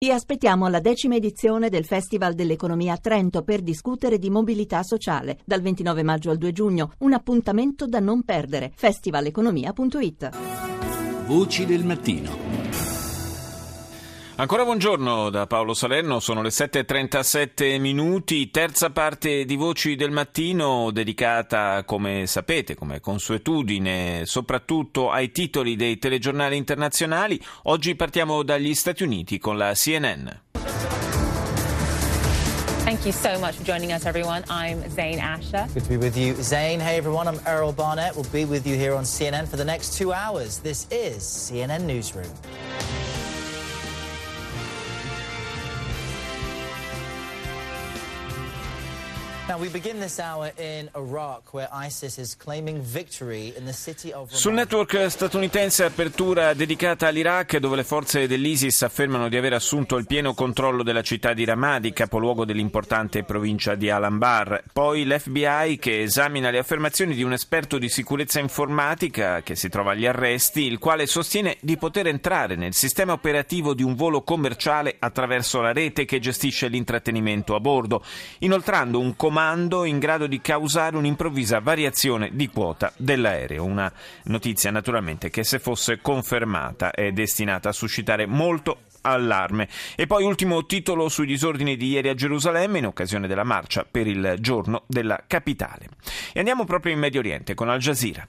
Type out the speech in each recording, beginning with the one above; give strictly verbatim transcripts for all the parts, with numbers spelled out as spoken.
Vi aspettiamo alla decima edizione del Festival dell'Economia a Trento per discutere di mobilità sociale. Dal ventinove maggio al due giugno, un appuntamento da non perdere. festivaleconomia punto it. Voci del mattino. Ancora buongiorno da Paolo Salerno, sono le sette e trentasette minuti, terza parte di Voci del Mattino dedicata, come sapete, come consuetudine, soprattutto ai titoli dei telegiornali internazionali. Oggi partiamo dagli Stati Uniti con la C N N. Thank you so much for joining us, everyone. I'm Zain Asher. Good to be with you, Zain. Hey, everyone. I'm Errol Barnett. We'll be with you here on C N N for the next two hours. This is C N N Newsroom. Sul network statunitense apertura dedicata all'Iraq, dove le forze dell'ISIS affermano di aver assunto il pieno controllo della città di Ramadi, capoluogo dell'importante provincia di Al-Anbar. Poi l'F B I che esamina le affermazioni di un esperto di sicurezza informatica che si trova agli arresti, il quale sostiene di poter entrare nel sistema operativo di un volo commerciale attraverso la rete che gestisce l'intrattenimento a bordo, inoltrando un comando in grado di causare un'improvvisa variazione di quota dell'aereo. Una notizia naturalmente che, se fosse confermata, è destinata a suscitare molto allarme. E poi ultimo titolo sui disordini di ieri a Gerusalemme in occasione della marcia per il giorno della capitale. E andiamo proprio in Medio Oriente con Al Jazeera.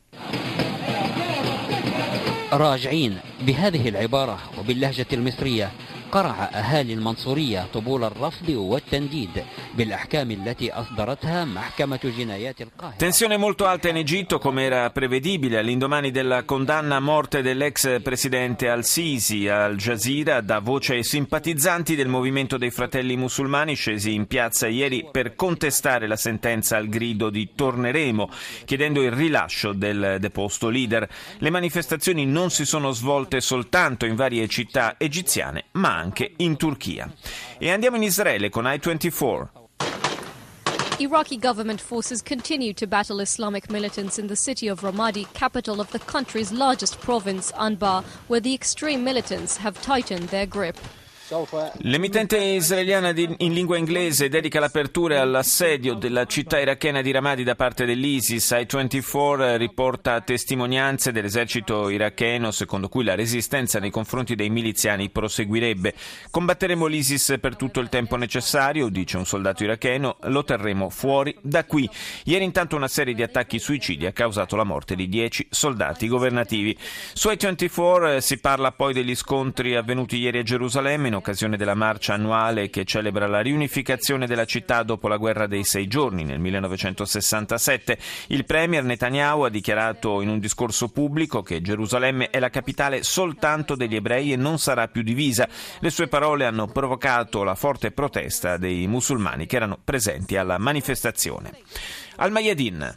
راجعين بهذه العبارة وباللهجة المصرية قرع أهالي المنصورية طبول الرفض والتنديد بالأحكام التي أصدرتها محكمة جنايات القاهرة. Tensione molto alta in Egitto, come era prevedibile, all'indomani della condanna a morte dell'ex presidente al-Sisi. Al Jazeera dà voce ai simpatizzanti del movimento dei fratelli musulmani scesi in piazza ieri per contestare la sentenza al grido di "torneremo", chiedendo il rilascio del deposto leader. Le manifestazioni non si sono svolte soltanto in varie città egiziane, ma anche in Turchia. E andiamo in Israele con I ventiquattro. Iraqi government forces continue to battle Islamic militants in the city of Ramadi, capital of the country's largest province, Anbar, where the extreme militants have tightened their grip. L'emittente israeliana di, in lingua inglese dedica l'apertura all'assedio della città irachena di Ramadi da parte dell'ISIS. I ventiquattro riporta testimonianze dell'esercito iracheno secondo cui la resistenza nei confronti dei miliziani proseguirebbe. Combatteremo l'ISIS per tutto il tempo necessario, dice un soldato iracheno, lo terremo fuori da qui. Ieri intanto una serie di attacchi suicidi ha causato la morte di dieci soldati governativi. Su I ventiquattro si parla poi degli scontri avvenuti ieri a Gerusalemme in occasione della marcia annuale che celebra la riunificazione della città dopo la guerra dei sei giorni nel millenovecentosessantasette. Il premier Netanyahu ha dichiarato in un discorso pubblico che Gerusalemme è la capitale soltanto degli ebrei e non sarà più divisa. Le sue parole hanno provocato la forte protesta dei musulmani che erano presenti alla manifestazione. Al Mayadin.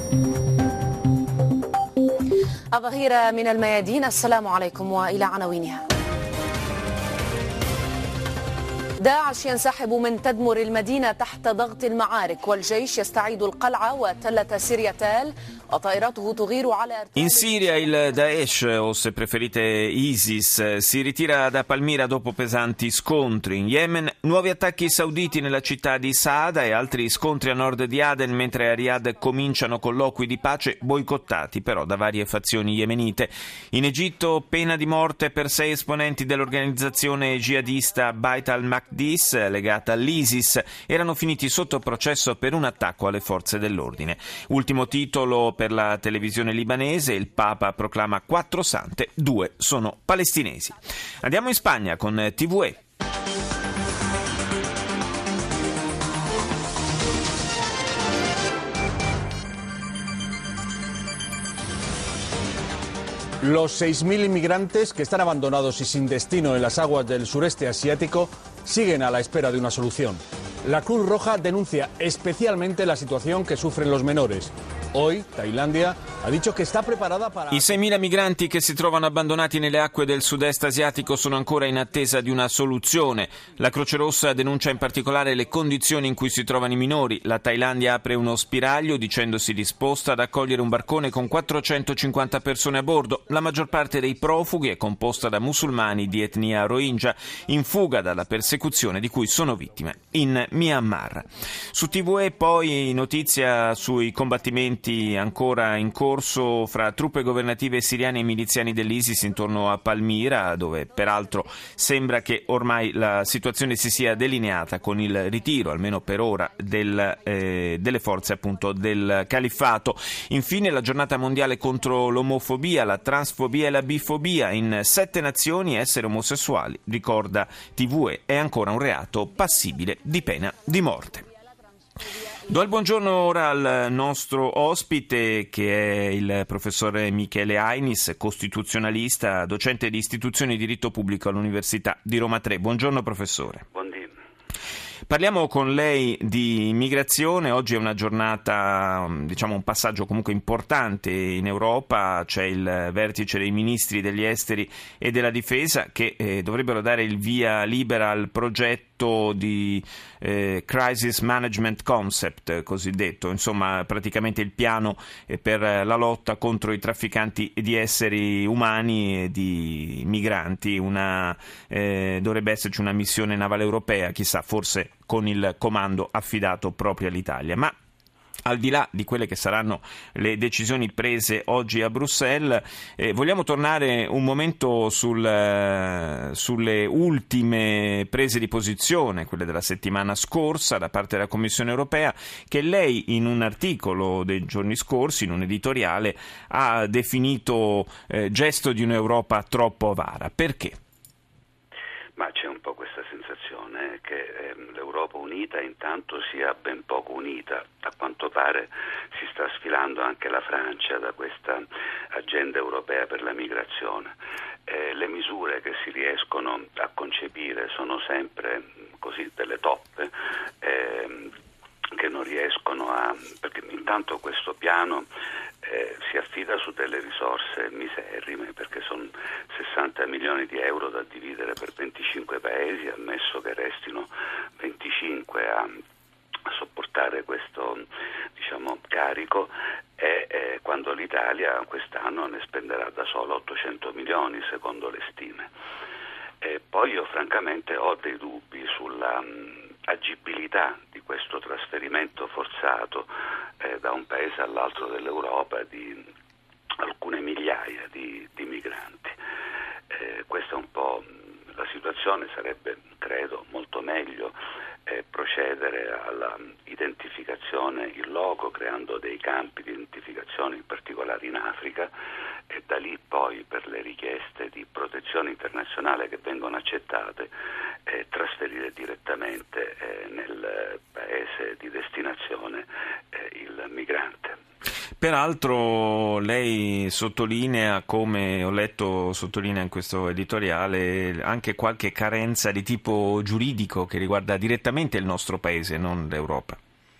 الظهيرة من الميادين. السلام عليكم وإلى عناوينها. داعش ينسحب من تدمر المدينة تحت ضغط المعارك والجيش يستعيد القلعة وتلة سيرياتال وطائراته تغير على. In Siria il Daesh, o se preferite ISIS, si ritira da Palmira dopo pesanti scontri. In Yemen nuovi attacchi sauditi nella città di Saada e altri scontri a nord di Aden, mentre a Riyadh cominciano colloqui di pace boicottati però da varie fazioni yemenite. In Egitto pena di morte per sei esponenti dell'organizzazione jihadista Bait al-Maqdis legata all'ISIS. Erano finiti sotto processo per un attacco alle forze dell'ordine. Ultimo titolo per la televisione libanese: il Papa proclama quattro sante, due sono palestinesi. Andiamo in Spagna con T V E. Los seis mil inmigrantes que están abandonados y sin destino en las aguas del sureste asiático siguen a la espera de una solución. La Cruz Roja denuncia especialmente la situación que sufren los menores. Hoy, Tailandia ha dicho che sta preparata para... I seimila migranti che si trovano abbandonati nelle acque del sud-est asiatico sono ancora in attesa di una soluzione. La Croce Rossa denuncia in particolare le condizioni in cui si trovano i minori. La Thailandia apre uno spiraglio dicendosi disposta ad accogliere un barcone con quattrocentocinquanta persone a bordo. La maggior parte dei profughi è composta da musulmani di etnia Rohingya, in fuga dalla persecuzione di cui sono vittime in Myanmar. Su T V E poi notizia sui combattimenti ancora in corso fra truppe governative siriane e miliziani dell'ISIS intorno a Palmira, dove peraltro sembra che ormai la situazione si sia delineata con il ritiro, almeno per ora, del, eh, delle forze appunto del califfato. Infine la giornata mondiale contro l'omofobia, la transfobia e la bifobia. In sette nazioni essere omosessuali, ricorda T V E, è ancora un reato passibile di pena di morte. Do il buongiorno ora al nostro ospite, che è il professore Michele Ainis, costituzionalista, docente di istituzioni di diritto pubblico all'Università di Roma tre. Buongiorno professore. Buongiorno. Parliamo con lei di immigrazione. Oggi è una giornata, diciamo un passaggio comunque importante in Europa. C'è il vertice dei ministri degli esteri e della difesa che eh, dovrebbero dare il via libera al progetto di eh, Crisis Management Concept, cosiddetto, insomma praticamente il piano eh, per la lotta contro i trafficanti di esseri umani e di migranti. Una, eh, dovrebbe esserci una missione navale europea, chissà, forse con il comando affidato proprio all'Italia. Ma al di là di quelle che saranno le decisioni prese oggi a Bruxelles, eh, vogliamo tornare un momento sul, eh, sulle ultime prese di posizione, quelle della settimana scorsa da parte della Commissione europea, che lei in un articolo dei giorni scorsi, in un editoriale, ha definito eh, gesto di un'Europa troppo avara. Perché? Ma c'è un po' questa sensazione che ehm, l'Europa unita intanto sia ben poco unita. A quanto pare si sta sfilando anche la Francia da questa agenda europea per la migrazione. Eh, le misure che si riescono a concepire sono sempre così delle toppe ehm, che non riescono a... perché intanto questo piano Eh, si affida su delle risorse miserrime, perché sono sessanta milioni di euro da dividere per venticinque paesi, ammesso che restino venticinque a, a sopportare questo, diciamo, carico, e eh, quando l'Italia quest'anno ne spenderà da solo ottocento milioni secondo le stime. E poi io francamente ho dei dubbi sulla mh, agibilità di questo trasferimento forzato eh, da un paese all'altro dell'Europa di alcune migliaia di, di migranti. Eh, questa è un po' la situazione. Sarebbe, credo, molto meglio eh, procedere alla identificazione in loco, creando dei campi di identificazione, in particolare in Africa, e da lì poi per le richieste di protezione internazionale che vengono accettate eh, trasferire direttamente eh, nel paese di destinazione eh, il migrante. Peraltro lei sottolinea, come ho letto, sottolinea in questo editoriale, anche qualche carenza di tipo giuridico che riguarda direttamente il nostro paese, non l'Europa.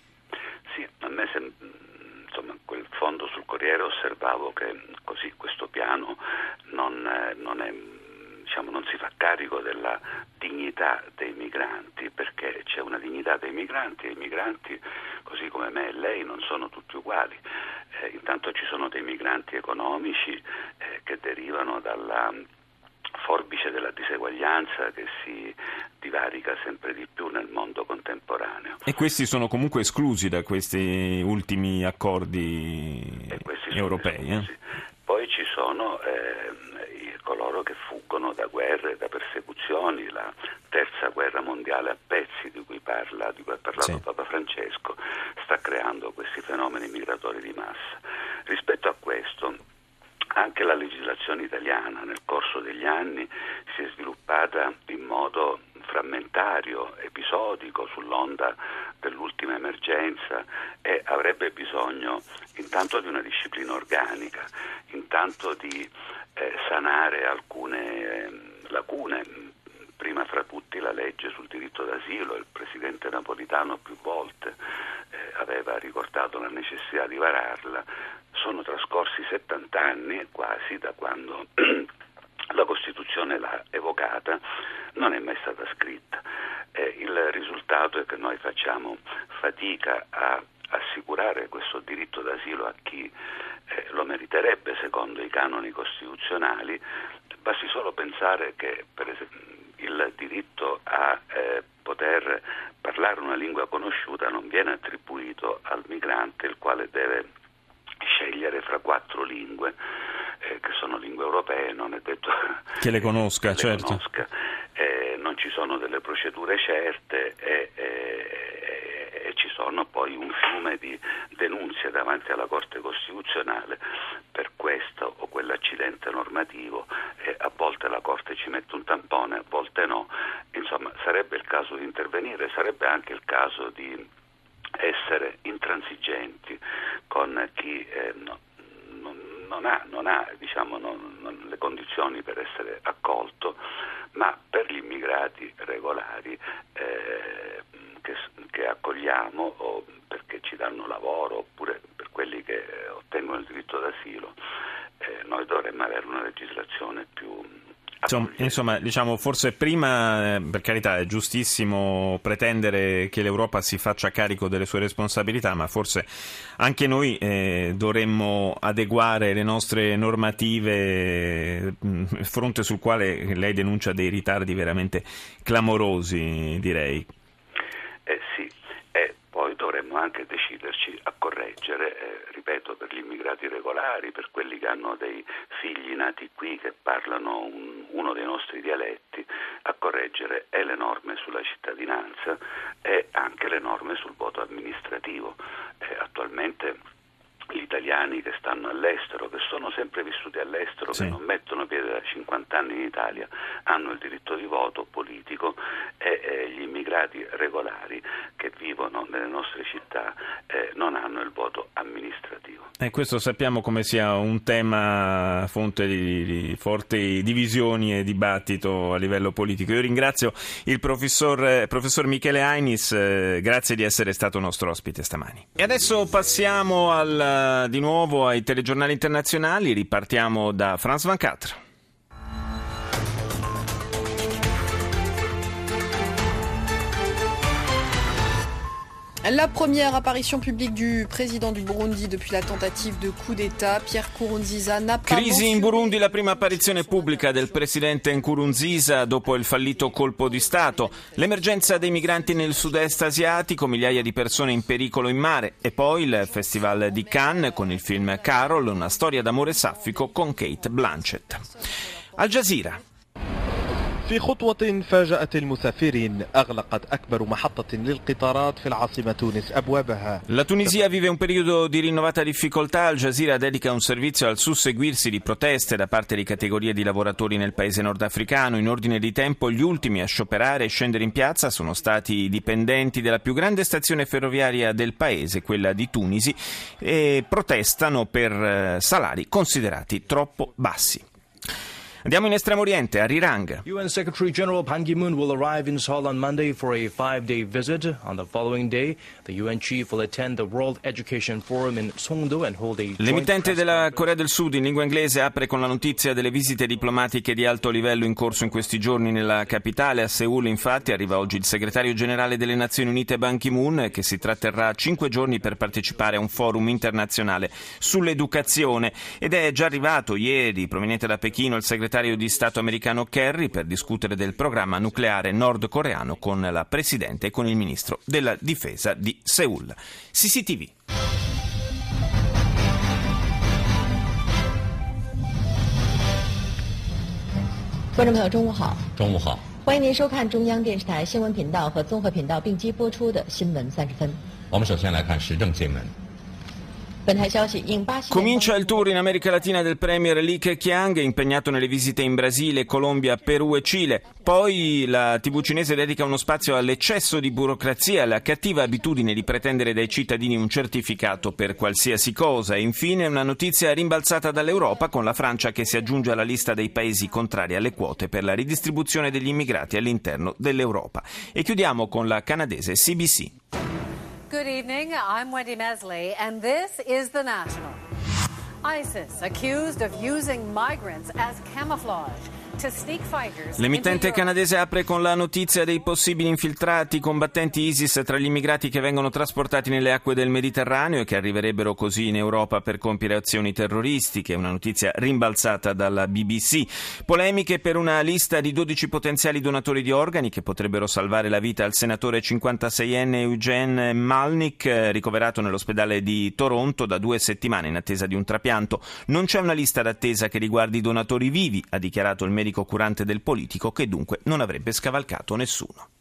Sì, a me sem- insomma, quel fondo sul Corriere osservavo che così questo piano non, eh, non è, diciamo, non si fa carico della dignità dei migranti, perché c'è una dignità dei migranti e i migranti, così come me e lei, non sono tutti uguali. Eh, intanto ci sono dei migranti economici eh, che derivano dalla forbice della diseguaglianza che si divarica sempre di più nel mondo contemporaneo. E questi sono comunque esclusi da questi ultimi accordi europei. Eh? Poi ci sono eh, coloro che fuggono da guerre, da persecuzioni. La terza guerra mondiale a pezzi di cui parla, di cui ha parlato sì. Papa Francesco, sta creando questi fenomeni migratori di massa. Rispetto a questo, anche la legislazione italiana nel corso degli anni si è sviluppata in modo frammentario, episodico, sull'onda dell'ultima emergenza, e avrebbe bisogno intanto di una disciplina organica, intanto di eh, sanare alcune eh, lacune, prima fra tutti la legge sul diritto d'asilo. Il presidente Napolitano più volte eh, ha aveva ricordato la necessità di vararla. Sono trascorsi settanta anni quasi da quando la Costituzione l'ha evocata, non è mai stata scritta. Eh, il risultato è che noi facciamo fatica a assicurare questo diritto d'asilo a chi eh, lo meriterebbe secondo i canoni costituzionali. Basti solo pensare che per esempio il diritto a eh, poter parlare una lingua conosciuta non viene attribuito al migrante, il quale deve scegliere fra quattro lingue eh, che sono lingue europee, non è detto che le conosca, che le certo. conosca. Eh, non ci sono delle procedure certe e, e, e ci sono poi un fiume di denunce davanti alla Corte Costituzionale per questo o quell'accidente normativo. Eh, a volte la Corte ci mette un tampone, a volte no. Insomma, sarebbe il caso di intervenire, sarebbe anche il caso di essere intransigenti con chi eh, no, non, non ha, non ha diciamo, non, non le condizioni per essere accolto, ma per gli immigrati regolari eh, che, che accogliamo o perché ci danno lavoro oppure per quelli che ottengono il diritto d'asilo, eh, noi dovremmo avere una legislazione più Insomma, insomma, diciamo, forse prima, per carità, è giustissimo pretendere che l'Europa si faccia carico delle sue responsabilità, ma forse anche noi eh, dovremmo adeguare le nostre normative, mh, fronte sul quale lei denuncia dei ritardi veramente clamorosi, direi. Eh sì, e poi dovremmo anche deciderci a correggere, eh, ripeto, per gli immigrati regolari, per quelli che hanno dei figli nati qui che parlano un, uno dei nostri dialetti, a correggere e le norme sulla cittadinanza e anche le norme sul voto amministrativo. Eh, attualmente gli italiani che stanno all'estero, che sono sempre vissuti all'estero, sì, che non mettono piede da cinquanta anni in Italia, hanno il diritto di voto politico e, e gli immigrati regolari che vivono nelle nostre città eh, non hanno il voto amministrativo. E questo sappiamo come sia un tema fonte di, di forti divisioni e dibattito a livello politico. Io ringrazio il professor, eh, professor Michele Ainis, eh, grazie di essere stato nostro ospite stamani. E adesso passiamo al di nuovo ai telegiornali internazionali, ripartiamo da France ventiquattro. La première apparition publique du président du Burundi depuis la tentative de coup d'État, Pierre Nkurunziza, n'a pas Crisi in Burundi, la prima apparizione pubblica del presidente Nkurunziza dopo il fallito colpo di Stato, l'emergenza dei migranti nel sud-est asiatico, migliaia di persone in pericolo in mare e poi il Festival di Cannes con il film Carol, una storia d'amore saffico con Kate Blanchett. Al Jazeera. في خطوة فاجأت المسافرين أغلقت أكبر محطة للقطارات في العاصمة تونس أبوابها. La Tunisia vive un periodo di rinnovata difficoltà. Al Jazeera dedica un servizio al susseguirsi di proteste da parte di categorie di lavoratori nel paese nordafricano. In ordine di tempo, gli ultimi a scioperare e scendere in piazza sono stati i dipendenti della più grande stazione ferroviaria del paese, quella di Tunisi, e protestano per salari considerati troppo bassi. Andiamo in Estremo Oriente, a Rirang. U N Secretary General Ban Ki-moon will arrive in Seoul on Monday for a five-day visit. On the following day, the U N chief will attend the World Education Forum in Songdo and hold a joint L'emittente press della Corea del Sud in lingua inglese apre con la notizia delle visite diplomatiche di alto livello in corso in questi giorni nella capitale. A Seul, infatti, arriva oggi il segretario generale delle Nazioni Unite Ban Ki-moon, che si tratterrà cinque giorni per partecipare a un forum internazionale sull'educazione. Ed è già arrivato ieri, proveniente da Pechino, il segretario di Stato americano Kerry per discutere del programma nucleare nordcoreano con la Presidente e con il Ministro della Difesa di Seul. C C T V. 观众朋友，中午好。中午好。欢迎您收看中央电视台新闻频道和综合频道并机播出的新闻三十分。 我们首先来看时政新闻。 Comincia il tour in America Latina del premier Li Keqiang, impegnato nelle visite in Brasile, Colombia, Perù e Cile. Poi la tivù cinese dedica uno spazio all'eccesso di burocrazia, alla cattiva abitudine di pretendere dai cittadini un certificato per qualsiasi cosa. E infine una notizia rimbalzata dall'Europa, con la Francia che si aggiunge alla lista dei paesi contrari alle quote per la ridistribuzione degli immigrati all'interno dell'Europa. E chiudiamo con la canadese C B C. Good evening, I'm Wendy Mesley, and this is The National. ISIS accused of using migrants as camouflage. L'emittente canadese apre con la notizia dei possibili infiltrati combattenti ISIS tra gli immigrati che vengono trasportati nelle acque del Mediterraneo e che arriverebbero così in Europa per compiere azioni terroristiche, una notizia rimbalzata dalla B B C. Polemiche per una lista di dodici potenziali donatori di organi che potrebbero salvare la vita al senatore cinquantaseienne Eugene Malnick, ricoverato nell'ospedale di Toronto da due settimane in attesa di un trapianto. Non c'è una lista d'attesa che riguardi i donatori vivi, ha dichiarato il medico curante del politico, che dunque non avrebbe scavalcato nessuno.